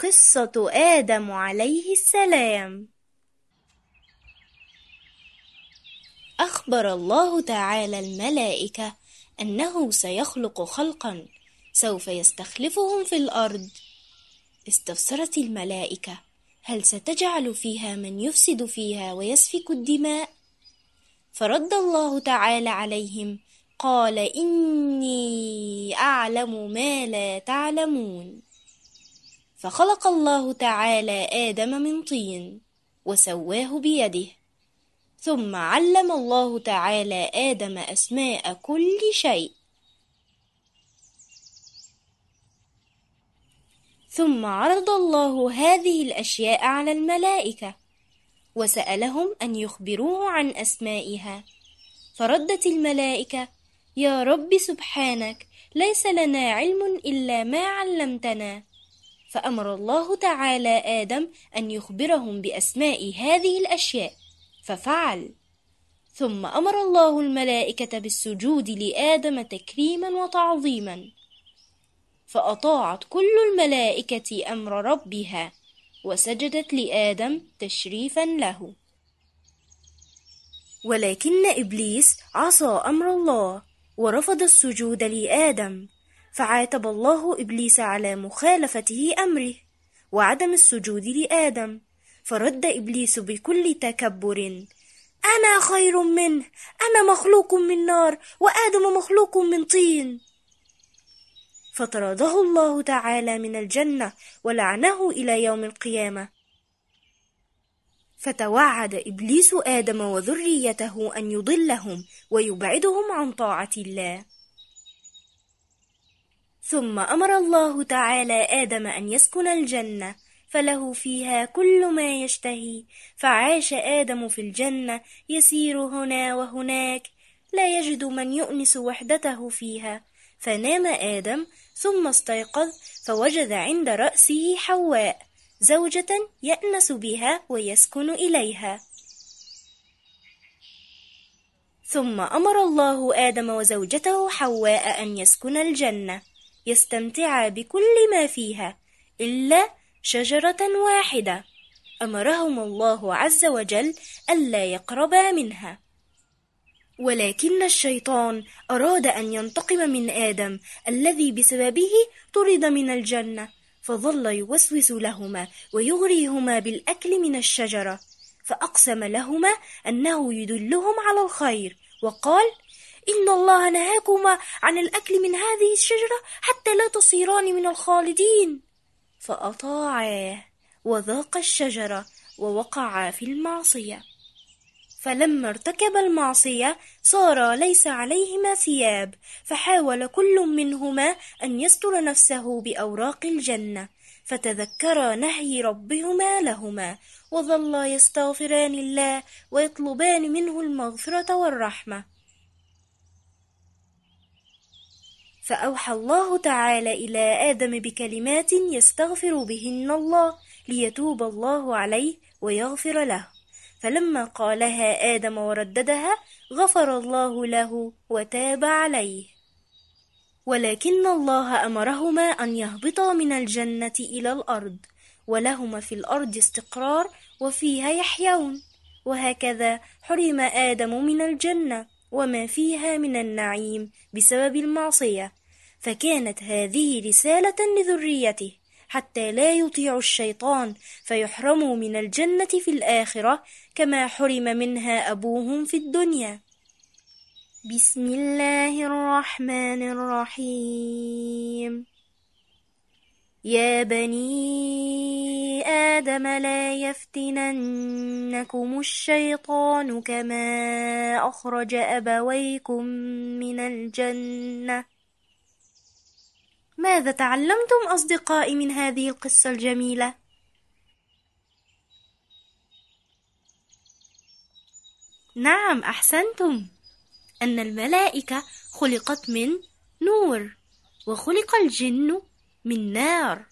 قصة آدم عليه السلام. أخبر الله تعالى الملائكة أنه سيخلق خلقا سوف يستخلفهم في الأرض. استفسرت الملائكة: هل ستجعل فيها من يفسد فيها ويسفك الدماء؟ فرد الله تعالى عليهم: قال: إني أعلم ما لا تعلمون. فخلق الله تعالى آدم من طين وسواه بيده، ثم علم الله تعالى آدم أسماء كل شيء، ثم عرض الله هذه الأشياء على الملائكة وسألهم أن يخبروه عن أسمائها. فردت الملائكة: يا رب سبحانك، ليس لنا علم إلا ما علمتنا. فأمر الله تعالى آدم أن يخبرهم بأسماء هذه الأشياء، ففعل. ثم أمر الله الملائكة بالسجود لآدم تكريما وتعظيما، فأطاعت كل الملائكة أمر ربها وسجدت لآدم تشريفا له. ولكن إبليس عصى أمر الله ورفض السجود لآدم، فعاتب الله إبليس على مخالفته أمره وعدم السجود لآدم. فرد إبليس بكل تكبر: أنا خير منه، أنا مخلوق من نار وآدم مخلوق من طين. فطرده الله تعالى من الجنة ولعنه إلى يوم القيامة. فتوعد إبليس آدم وذريته أن يضلهم ويبعدهم عن طاعة الله. ثم أمر الله تعالى آدم أن يسكن الجنة، فله فيها كل ما يشتهي. فعاش آدم في الجنة يسير هنا وهناك، لا يجد من يؤنس وحدته فيها. فنام آدم ثم استيقظ فوجد عند رأسه حواء، زوجة يأنس بها ويسكن إليها. ثم أمر الله آدم وزوجته حواء أن يسكن الجنة، يستمتعا بكل ما فيها إلا شجرة واحدة أمرهم الله عز وجل ألا يقربا منها. ولكن الشيطان أراد أن ينتقم من آدم الذي بسببه طرد من الجنة، فظل يوسوس لهما ويغريهما بالأكل من الشجرة، فأقسم لهما أنه يدلهم على الخير وقال: إن الله نهاكما عن الأكل من هذه الشجرة حتى لا تصيران من الخالدين. فأطاعاه وذاقا الشجرة ووقعا في المعصية. فلما ارتكب المعصية صار ليس عليهما ثياب، فحاول كل منهما أن يستر نفسه بأوراق الجنة، فتذكرا نهي ربهما لهما وظلا يستغفران الله ويطلبان منه المغفرة والرحمة. فأوحى الله تعالى إلى آدم بكلمات يستغفر بهن الله ليتوب الله عليه ويغفر له. فلما قالها آدم ورددها غفر الله له وتاب عليه. ولكن الله أمرهما أن يهبطا من الجنة إلى الأرض، ولهما في الأرض استقرار وفيها يحيون. وهكذا حرم آدم من الجنة وما فيها من النعيم بسبب المعصية، فكانت هذه رسالة لذريته حتى لا يطيعوا الشيطان فيحرموا من الجنة في الآخرة كما حرم منها أبوهم في الدنيا. بسم الله الرحمن الرحيم. يا بني آدم لا يفتننكم الشيطان كما أخرج أبويكم من الجنة. ماذا تعلمتم أصدقائي من هذه القصة الجميلة؟ نعم، أحسنتم، أن الملائكة خلقت من نور وخلق الجن من نار.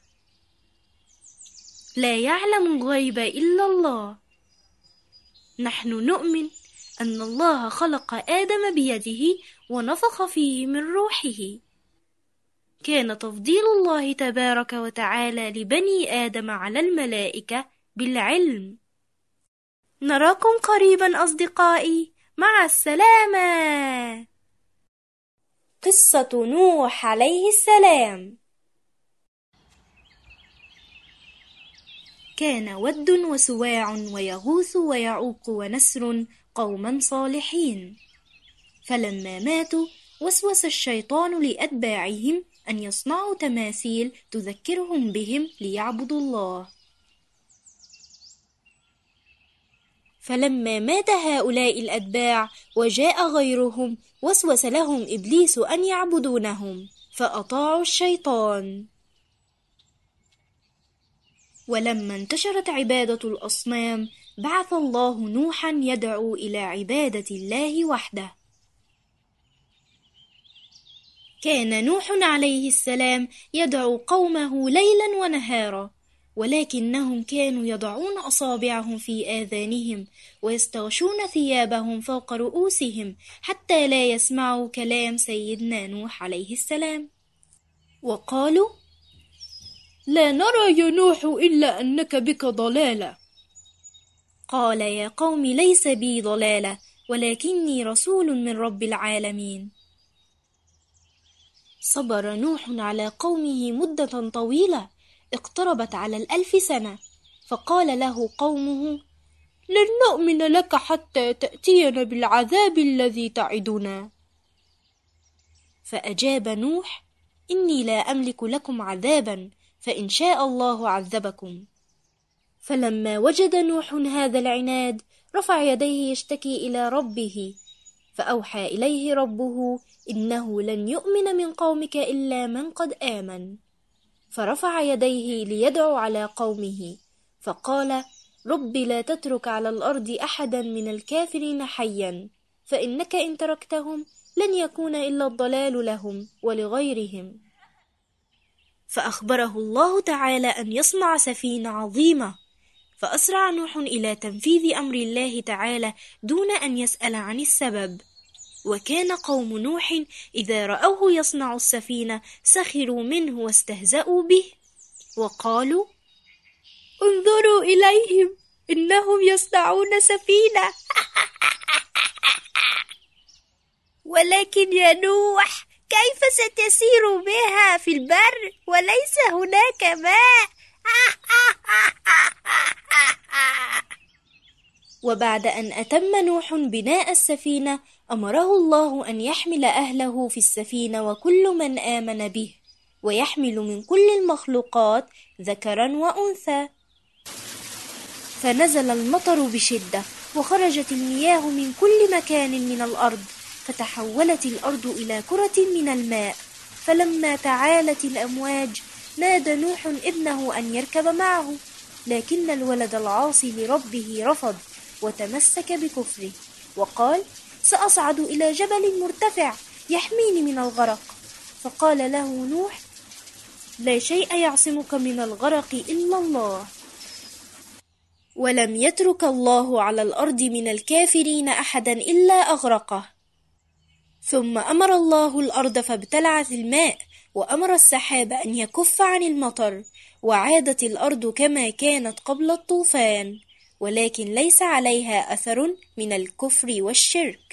لا يعلم الغيب إلا الله. نحن نؤمن أن الله خلق آدم بيده ونفخ فيه من روحه، كان تفضيل الله تبارك وتعالى لبني آدم على الملائكة بالعلم. نراكم قريبا أصدقائي، مع السلامة. قصة نوح عليه السلام. كان ود وسواع ويغوث ويعوق ونسر قوما صالحين، فلما ماتوا وسوس الشيطان لأتباعهم أن يصنعوا تماثيل تذكرهم بهم ليعبدوا الله. فلما مات هؤلاء الأتباع وجاء غيرهم وسوس لهم إبليس أن يعبدونهم فأطاعوا الشيطان. ولما انتشرت عبادة الأصنام بعث الله نوحا يدعو إلى عبادة الله وحده. كان نوح عليه السلام يدعو قومه ليلا ونهارا، ولكنهم كانوا يضعون أصابعهم في آذانهم ويستغشون ثيابهم فوق رؤوسهم حتى لا يسمعوا كلام سيدنا نوح عليه السلام، وقالوا: لا نرى يا نوح إلا أنك بك ضلالة. قال: يا قوم ليس بي ضلالة، ولكني رسول من رب العالمين. صبر نوح على قومه مدة طويلة اقتربت على 1000 سنة، فقال له قومه: لن نؤمن لك حتى تأتينا بالعذاب الذي تعدنا. فأجاب نوح: إني لا أملك لكم عذابا، فإن شاء الله عذبكم. فلما وجد نوح هذا العناد رفع يديه يشتكي إلى ربه، فأوحى إليه ربه: إنه لن يؤمن من قومك إلا من قد آمن. فرفع يديه ليدعو على قومه، فقال: رب لا تترك على الأرض أحدا من الكافرين حيا، فإنك إن تركتهم لن يكون إلا الضلال لهم ولغيرهم. فأخبره الله تعالى أن يصنع سفينة عظيمة، فأسرع نوح إلى تنفيذ أمر الله تعالى دون أن يسأل عن السبب. وكان قوم نوح إذا رأوه يصنع السفينة سخروا منه واستهزأوا به، وقالوا: انظروا إليهم إنهم يصنعون سفينة. ولكن يا نوح، كيف ستسير بها في البر وليس هناك ماء؟ وبعد أن أتم نوح بناء السفينة أمره الله أن يحمل أهله في السفينة وكل من آمن به، ويحمل من كل المخلوقات ذكرا وأنثى. فنزل المطر بشدة وخرجت المياه من كل مكان من الأرض، فتحولت الأرض إلى كرة من الماء. فلما تعالت الأمواج نادى نوح ابنه أن يركب معه، لكن الولد العاصي لربه رفض وتمسك بكفره وقال: سأصعد إلى جبل مرتفع يحميني من الغرق. فقال له نوح: لا شيء يعصمك من الغرق إلا الله. ولم يترك الله على الأرض من الكافرين أحدا إلا أغرقه. ثم أمر الله الأرض فابتلعت الماء، وأمر السحاب أن يكف عن المطر، وعادت الأرض كما كانت قبل الطوفان، ولكن ليس عليها أثر من الكفر والشرك.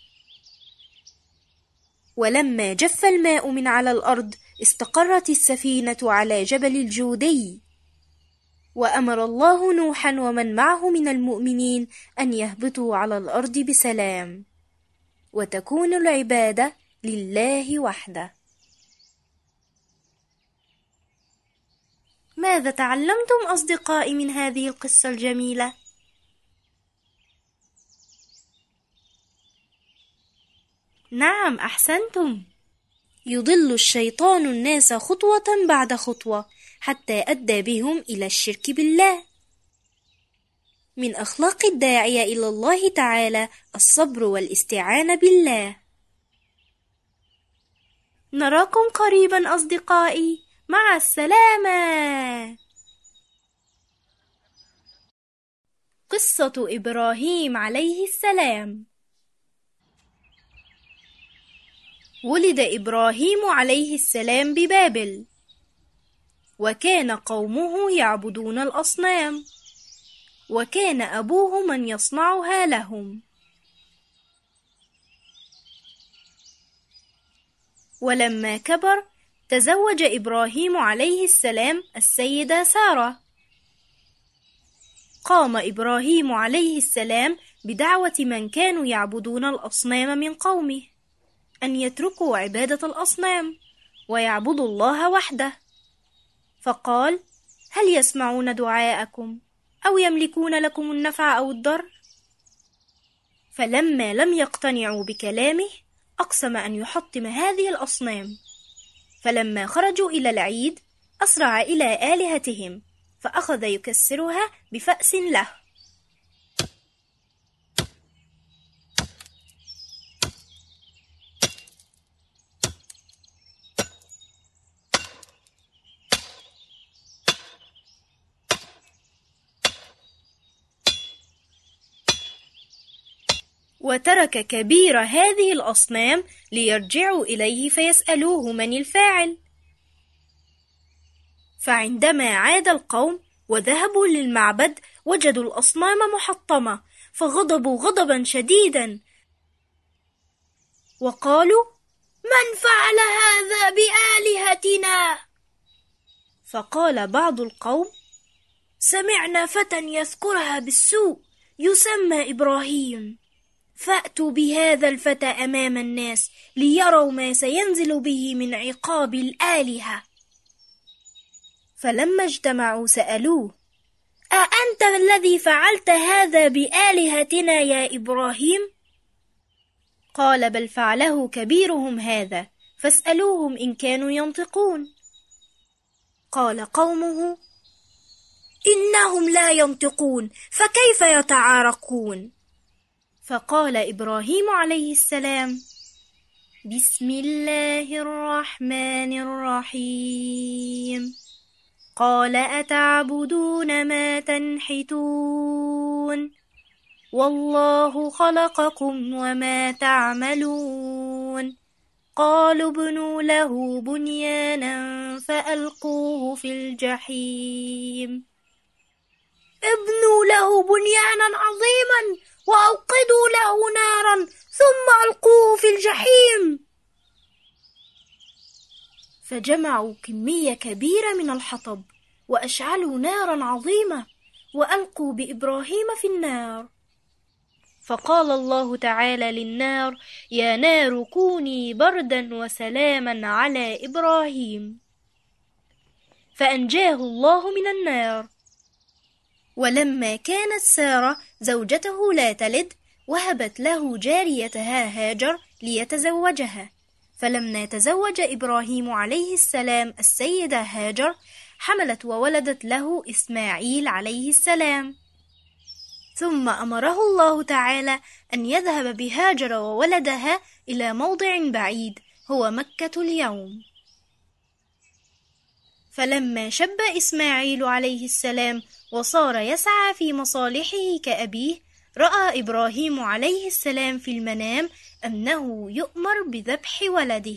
ولما جف الماء من على الأرض استقرت السفينة على جبل الجودي، وأمر الله نوحا ومن معه من المؤمنين أن يهبطوا على الأرض بسلام، وتكون العبادة لله وحده. ماذا تعلمتم أصدقائي من هذه القصة الجميلة؟ نعم، أحسنتم. يضل الشيطان الناس خطوة بعد خطوة حتى أدى بهم إلى الشرك بالله. من أخلاق الداعية إلى الله تعالى الصبر والاستعانة بالله. نراكم قريبا أصدقائي، مع السلامة. قصة إبراهيم عليه السلام. ولد إبراهيم عليه السلام ببابل، وكان قومه يعبدون الأصنام، وكان أبوه من يصنعها لهم. ولما كبر تزوج إبراهيم عليه السلام السيدة سارة. قام إبراهيم عليه السلام بدعوة من كانوا يعبدون الأصنام من قومه أن يتركوا عبادة الأصنام ويعبدوا الله وحده، فقال: هل يسمعون دعاءكم أو يملكون لكم النفع أو الضر؟ فلما لم يقتنعوا بكلامه أقسم أن يحطم هذه الأصنام. فلما خرجوا إلى العيد أسرع إلى آلهتهم فأخذ يكسرها بفأس له. وترك كبير هذه الأصنام ليرجعوا إليه فيسألوه من الفاعل. فعندما عاد القوم وذهبوا للمعبد وجدوا الأصنام محطمة، فغضبوا غضبا شديدا وقالوا: من فعل هذا بآلهتنا؟ فقال بعض القوم: سمعنا فتى يذكرها بالسوء يسمى إبراهيم، فأتوا بهذا الفتى أمام الناس ليروا ما سينزل به من عقاب الآلهة. فلما اجتمعوا سألوه: أأنت الذي فعلت هذا بآلهتنا يا إبراهيم؟ قال: بل فعله كبيرهم هذا، فاسألوهم إن كانوا ينطقون. قال قومه: إنهم لا ينطقون، فكيف يتعاركون؟ فقال إبراهيم عليه السلام: بسم الله الرحمن الرحيم. قال: أتعبدون ما تنحتون، والله خلقكم وما تعملون. قالوا ابنوا له بنيانا فألقوه في الجحيم. ابنوا له بنيانا عظيما وأوقدوا له نارا ثم ألقوه في الجحيم. فجمعوا كمية كبيرة من الحطب وأشعلوا نارا عظيمة وألقوا بإبراهيم في النار. فقال الله تعالى للنار: يا نار كوني بردا وسلاما على إبراهيم، فأنجاه الله من النار. ولما كانت سارة زوجته لا تلد وهبت له جاريتها هاجر ليتزوجها. فلما تزوج إبراهيم عليه السلام السيدة هاجر حملت وولدت له إسماعيل عليه السلام. ثم أمره الله تعالى أن يذهب بهاجر وولدها إلى موضع بعيد هو مكة اليوم. فلما شب إسماعيل عليه السلام وصار يسعى في مصالحه كأبيه، رأى إبراهيم عليه السلام في المنام أنه يؤمر بذبح ولده،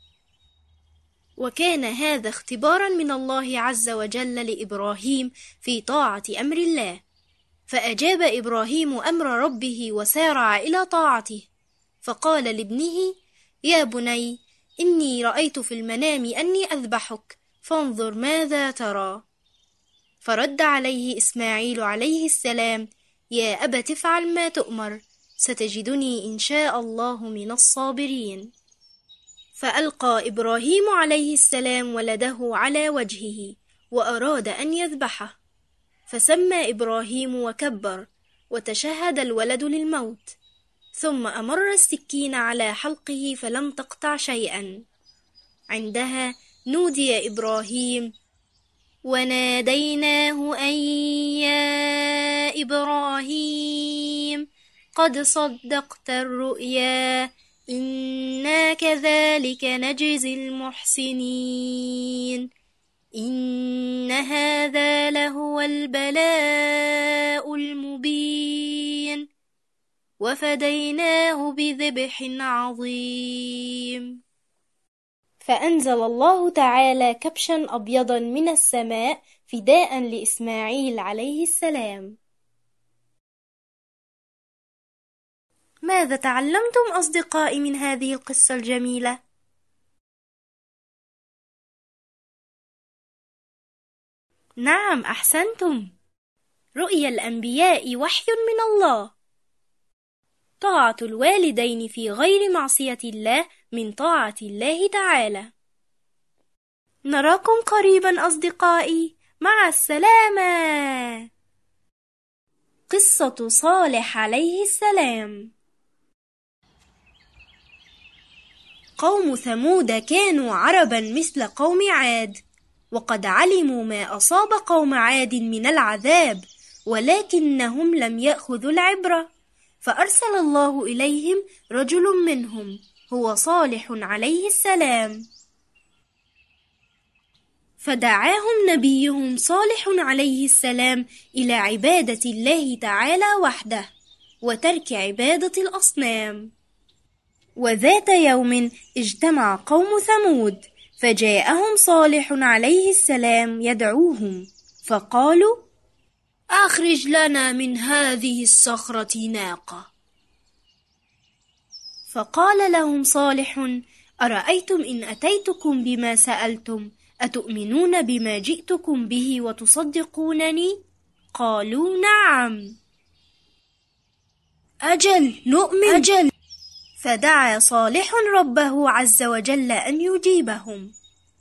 وكان هذا اختبارا من الله عز وجل لإبراهيم في طاعة أمر الله. فأجاب إبراهيم أمر ربه وسارع إلى طاعته، فقال لابنه: يا بني إني رأيت في المنام أني أذبحك فانظر ماذا ترى. فرد عليه إسماعيل عليه السلام: يا أبت افعل ما تؤمر، ستجدني إن شاء الله من الصابرين. فألقى إبراهيم عليه السلام ولده على وجهه وأراد أن يذبحه، فسمى إبراهيم وكبر وتشهد الولد للموت، ثم أمر السكين على حلقه فلم تقطع شيئا. عندها نودي إبراهيم وناديناه أن يا إبراهيم قد صدقت الرؤيا إنا كذلك نجزي المحسنين إن هذا لهو البلاء المبين وفديناه بذبح عظيم. فأنزل الله تعالى كبشا أبيضا من السماء فداء لإسماعيل عليه السلام. ماذا تعلمتم أصدقائي من هذه القصة الجميلة؟ نعم، أحسنتم. رؤيا الأنبياء وحي من الله. طاعة الوالدين في غير معصية الله من طاعة الله تعالى. نراكم قريبا أصدقائي، مع السلامة. قصة صالح عليه السلام. قوم ثمود كانوا عربا مثل قوم عاد، وقد علموا ما أصاب قوم عاد من العذاب، ولكنهم لم يأخذوا العبرة، فأرسل الله إليهم رجل منهم هو صالح عليه السلام، فدعاهم نبيهم صالح عليه السلام إلى عبادة الله تعالى وحده، وترك عبادة الأصنام. وذات يوم اجتمع قوم ثمود، فجاءهم صالح عليه السلام يدعوهم، فقالوا: أخرج لنا من هذه الصخرة ناقة. فقال لهم صالح: أرأيتم إن أتيتكم بما سألتم أتؤمنون بما جئتكم به وتصدقونني؟ قالوا: نعم. أجل نؤمن. أجل. فدعا صالح ربه عز وجل أن يجيبهم،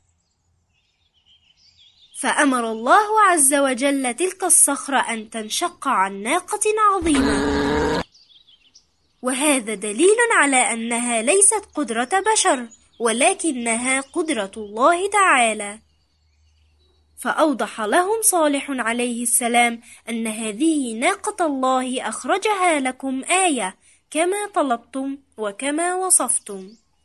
فأمر الله عز وجل تلك الصخرة أن تنشق عن ناقة عظيمة، وهذا دليل على أنها ليست قدرة بشر، ولكنها قدرة الله تعالى. فأوضح لهم صالح عليه السلام أن هذه ناقة الله أخرجها لكم آية كما طلبتم وكما وصفتم.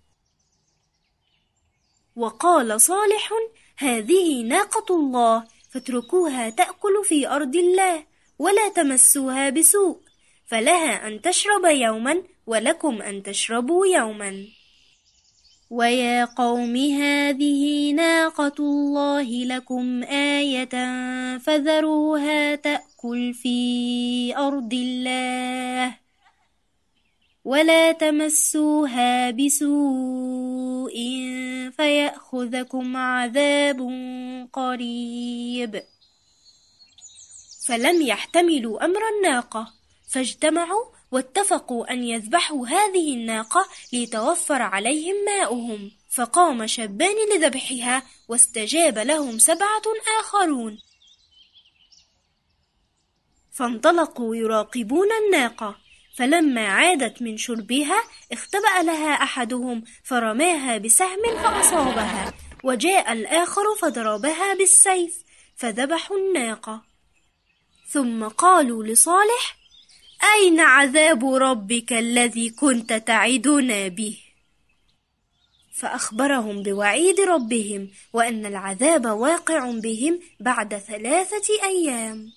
وقال صالح: هذه ناقة الله، فاتركوها تأكل في أرض الله ولا تمسوها بسوء، فلها أن تشرب يوما ولكم أن تشربوا يوما. ويا قوم هذه ناقة الله لكم آية فذروها تأكل في أرض الله ولا تمسوها بسوء فيأخذكم عذاب قريب. فلم يحتملوا أمر الناقة، فاجتمعوا واتفقوا أن يذبحوا هذه الناقة ليتوفر عليهم ماؤهم، فقام شابان لذبحها، واستجاب لهم 7 آخرون، فانطلقوا يراقبون الناقة، فلما عادت من شربها اختبأ لها أحدهم فرماها بسهم فأصابها، وجاء الآخر فضربها بالسيف فذبحوا الناقة. ثم قالوا لصالح: أين عذاب ربك الذي كنت تعدنا به؟ فأخبرهم بوعيد ربهم وأن العذاب واقع بهم بعد 3 أيام.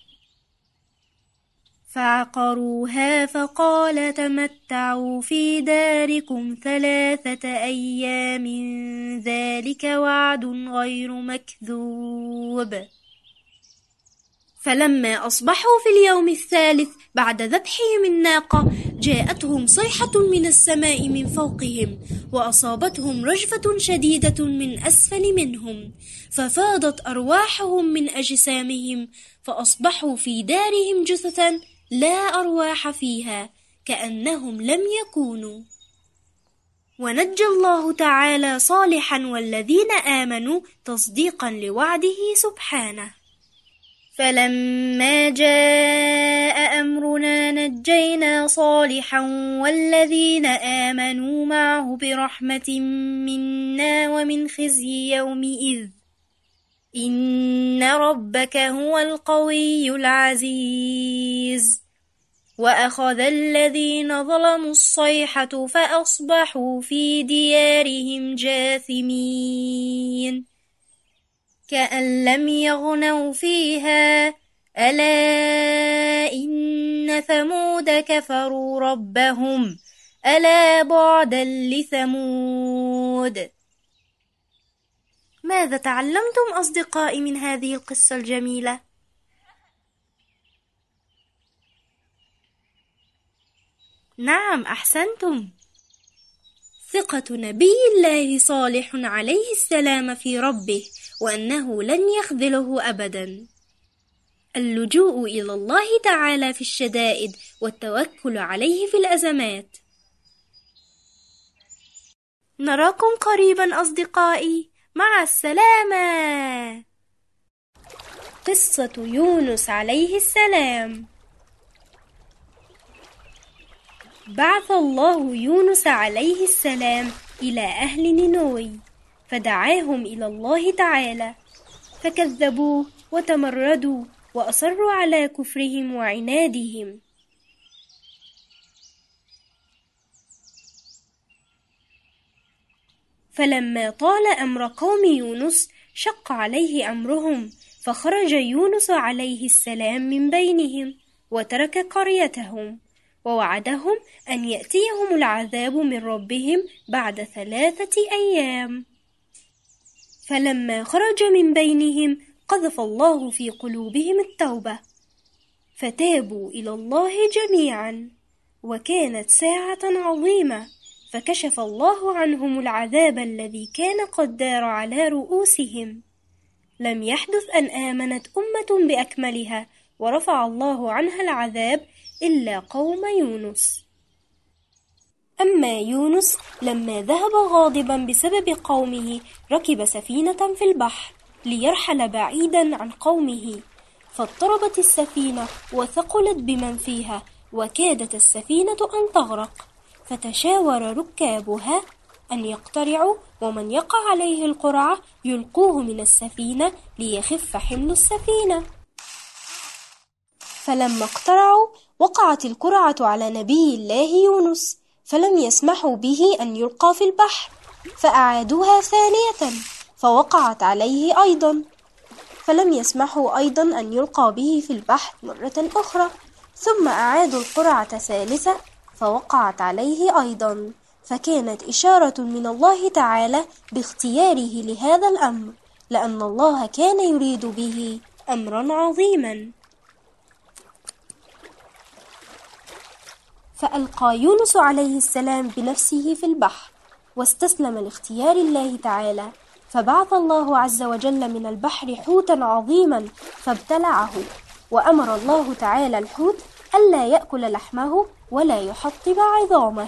فعقروها فقال: تمتعوا في داركم 3 أيام ذلك وعد غير مكذوب. فلما أصبحوا في اليوم الثالث بعد ذبحهم الناقة جاءتهم صيحة من السماء من فوقهم، وأصابتهم رجفة شديدة من أسفل منهم، ففاضت أرواحهم من أجسامهم، فأصبحوا في دارهم جثثا لا أرواح فيها كأنهم لم يكونوا. ونجى الله تعالى صالحا والذين آمنوا تصديقا لوعده سبحانه. فلما جاء أمرنا نجينا صالحا والذين آمنوا معه برحمة منا ومن خزي يومئذ إن ربك هو القوي العزيز. وأخذ الذين ظلموا الصيحة فأصبحوا في ديارهم جاثمين كأن لم يغنوا فيها ألا إن ثمود كفروا ربهم ألا بعدا لثمود. ماذا تعلمتم أصدقائي من هذه القصة الجميلة؟ نعم، أحسنتم. ثقة نبي الله صالح عليه السلام في ربه، وأنه لن يخذله أبدا. اللجوء إلى الله تعالى في الشدائد، والتوكل عليه في الأزمات. نراكم قريبا أصدقائي، مع السلامة. قصة يونس عليه السلام. بعث الله يونس عليه السلام إلى أهل نينوى، فدعاهم إلى الله تعالى، فكذبوه وتمردوا وأصروا على كفرهم وعنادهم. فلما طال أمر قوم يونس شق عليه أمرهم، فخرج يونس عليه السلام من بينهم وترك قريتهم، ووعدهم أن يأتيهم العذاب من ربهم بعد 3 أيام. فلما خرج من بينهم قذف الله في قلوبهم التوبة، فتابوا إلى الله جميعا، وكانت ساعة عظيمة، فكشف الله عنهم العذاب الذي كان قد دار على رؤوسهم. لم يحدث أن آمنت أمة بأكملها ورفع الله عنها العذاب إلا قوم يونس. أما يونس لما ذهب غاضبا بسبب قومه ركب سفينة في البحر ليرحل بعيدا عن قومه، فاضطربت السفينة وثقلت بمن فيها، وكادت السفينة أن تغرق، فتشاور ركابها أن يقترعوا، ومن يقع عليه القرعة يلقوه من السفينة ليخف حمل السفينة. فلما اقترعوا وقعت القرعة على نبي الله يونس، فلم يسمحوا به أن يلقى في البحر، فأعادوها ثانية فوقعت عليه أيضا، فلم يسمحوا أيضا أن يلقى به في البحر مرة أخرى، ثم أعادوا القرعة ثالثة فوقعت عليه أيضا، فكانت إشارة من الله تعالى باختياره لهذا الأمر، لأن الله كان يريد به أمرا عظيما. فألقى يونس عليه السلام بنفسه في البحر، واستسلم لاختيار الله تعالى، فبعث الله عز وجل من البحر حوتا عظيما فابتلعه، وأمر الله تعالى الحوت ألا يأكل لحمه ولا يحطم عظامه.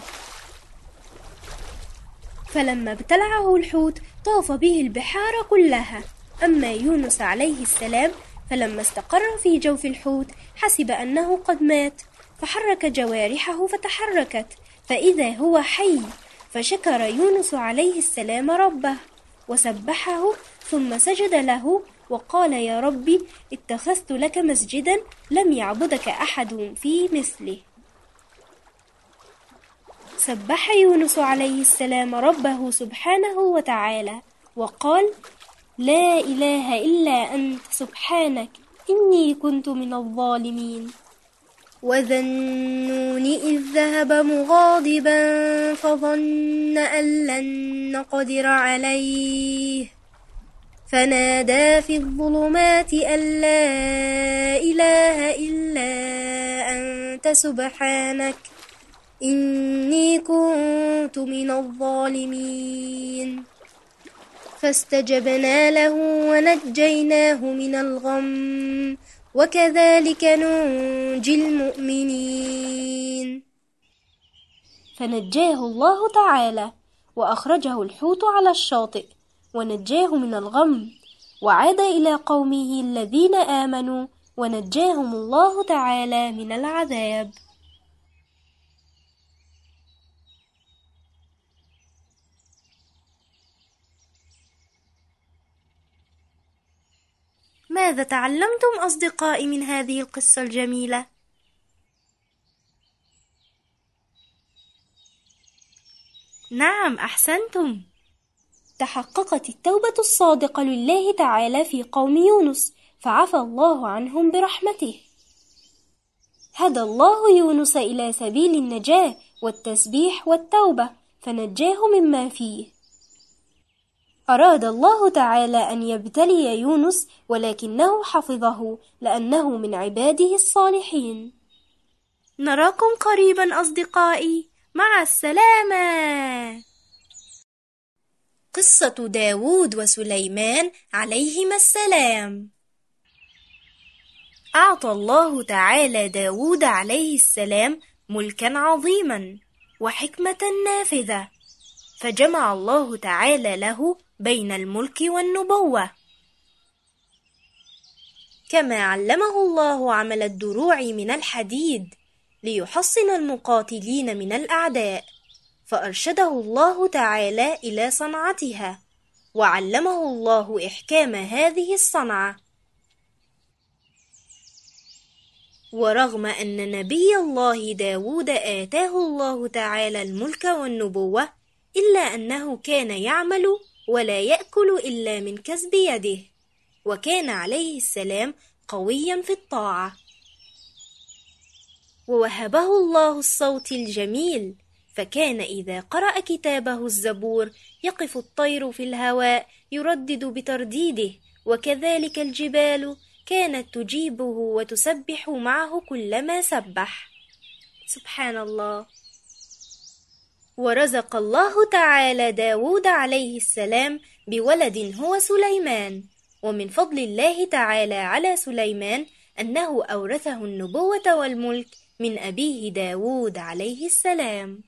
فلما ابتلعه الحوت طاف به البحار كلها. أما يونس عليه السلام فلما استقر في جوف الحوت حسب أنه قد مات، فحرك جوارحه فتحركت فإذا هو حي، فشكر يونس عليه السلام ربه وسبحه، ثم سجد له وقال: يا ربي، اتخذت لك مسجدا لم يعبدك أحد في مثله. سبح يونس عليه السلام ربه سبحانه وتعالى وقال: لا إله إلا أنت سبحانك إني كنت من الظالمين. وذا النون إذ ذهب مغاضبا فظن أن لن نقدر عليه، فنادى في الظلمات أن لا إله إلا أنت سبحانك إني كنت من الظالمين. فاستجبنا له ونجيناه من الغم وكذلك ننجي المؤمنين. فنجاه الله تعالى وأخرجه الحوت على الشاطئ ونجاه من الغم، وعاد إلى قومه الذين آمنوا ونجاهم الله تعالى من العذاب. ماذا تعلمتم أصدقائي من هذه القصة الجميلة؟ نعم، أحسنتم. تحققت التوبة الصادقة لله تعالى في قوم يونس، فعفى الله عنهم برحمته. هدى الله يونس إلى سبيل النجاة والتسبيح والتوبة، فنجاه مما فيه. أراد الله تعالى أن يبتلي يونس ولكنه حفظه لأنه من عباده الصالحين. نراكم قريبا أصدقائي، مع السلامة. قصة داود وسليمان عليهما السلام. أعطى الله تعالى داود عليه السلام ملكا عظيما وحكمة نافذة، فجمع الله تعالى له بين الملك والنبوة، كما علمه الله عمل الدروع من الحديد ليحصن المقاتلين من الأعداء، فأرشده الله تعالى إلى صنعتها، وعلمه الله إحكام هذه الصنعة. ورغم أن نبي الله داود آتاه الله تعالى الملك والنبوة، إلا أنه كان يعمل ولا يأكل إلا من كسب يده، وكان عليه السلام قويا في الطاعة. ووهبه الله الصوت الجميل، فكان إذا قرأ كتابه الزبور يقف الطير في الهواء يردد بترديده، وكذلك الجبال كانت تجيبه وتسبح معه كلما سبح. سبحان الله. ورزق الله تعالى داود عليه السلام بولد هو سليمان، ومن فضل الله تعالى على سليمان أنه أورثه النبوة والملك من أبيه داود عليه السلام.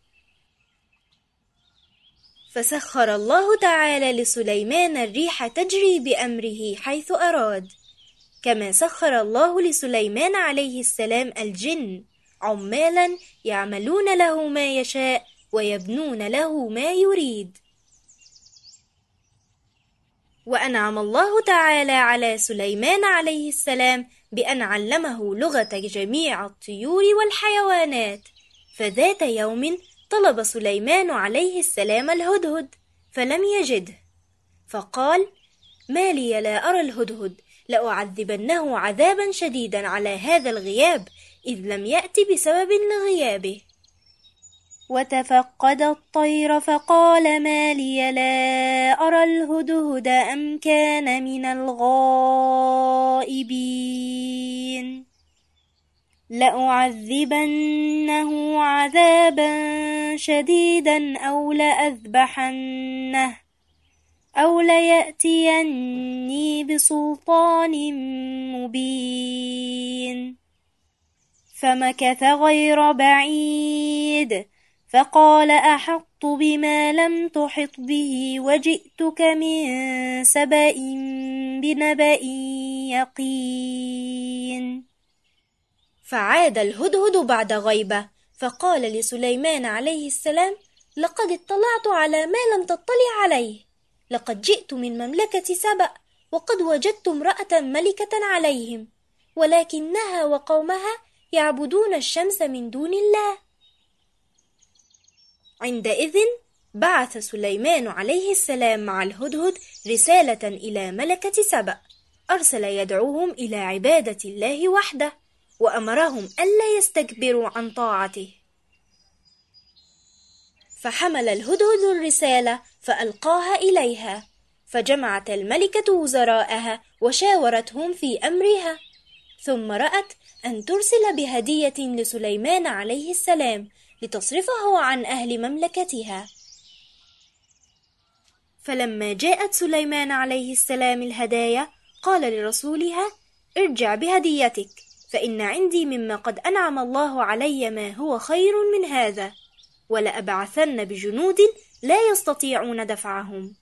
فسخر الله تعالى لسليمان الريح تجري بأمره حيث أراد، كما سخر الله لسليمان عليه السلام الجن عمالا يعملون له ما يشاء ويبنون له ما يريد. وأنعم الله تعالى على سليمان عليه السلام بأن علمه لغة جميع الطيور والحيوانات. فذات يوم طلب سليمان عليه السلام الهدهد فلم يجده، فقال: ما لي لا أرى الهدهد، لأعذبنه عذابا شديدا على هذا الغياب إذ لم يأت بسبب لغيابه. وتفقد الطير فقال: ما لي لا أرى الهدهد أم كان من الغائبين، لأعذبنه عذابا شديدا أو لأذبحنه أو ليأتيني بسلطان مبين. فمكث غير بعيد فقال: أحطت بما لم تحط به وجئتك من سبأ بنبأ يقين. فعاد الهدهد بعد غيبة فقال لسليمان عليه السلام: لقد اطلعت على ما لم تطلع عليه، لقد جئت من مملكة سبأ وقد وجدت امرأة ملكة عليهم، ولكنها وقومها يعبدون الشمس من دون الله. عندئذ بعث سليمان عليه السلام مع الهدهد رسالة إلى ملكة سبأ، أرسل يدعوهم إلى عبادة الله وحده، وأمرهم ألا يستكبروا عن طاعته. فحمل الهدهد الرسالة فألقاها إليها، فجمعت الملكة وزراءها وشاورتهم في أمرها، ثم رأت أن ترسل بهدية لسليمان عليه السلام لتصرفه عن أهل مملكتها. فلما جاءت سليمان عليه السلام الهدايا قال لرسولها: ارجع بهديتك، فإن عندي مما قد أنعم الله علي ما هو خير من هذا، ولأبعثن بجنود لا يستطيعون دفعهم.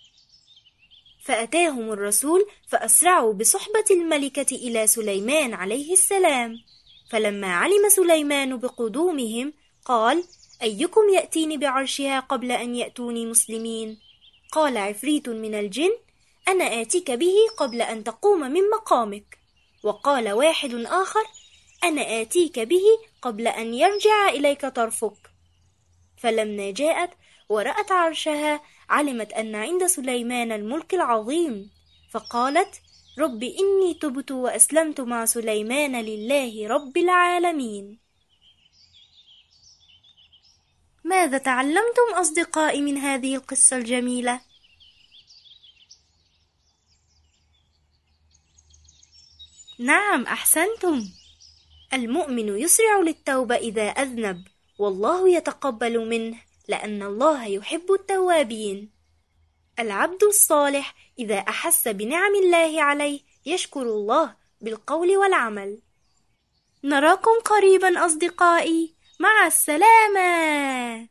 فأتاهم الرسول فأسرعوا بصحبة الملكة إلى سليمان عليه السلام. فلما علم سليمان بقدومهم قال: أيكم يأتيني بعرشها قبل أن يأتوني مسلمين؟ قال عفريت من الجن: أنا آتيك به قبل أن تقوم من مقامك. وقال واحد آخر: أنا آتيك به قبل أن يرجع إليك طرفك. فلما جاءت ورأت عرشها علمت أن عند سليمان الملك العظيم، فقالت: رب إني تبت وأسلمت مع سليمان لله رب العالمين. ماذا تعلمتم أصدقائي من هذه القصة الجميلة؟ نعم، أحسنتم. المؤمن يسرع للتوبة إذا أذنب، والله يتقبل منه لأن الله يحب التوابين. العبد الصالح إذا أحس بنعم الله عليه يشكر الله بالقول والعمل. نراكم قريبا أصدقائي، مع السلامة.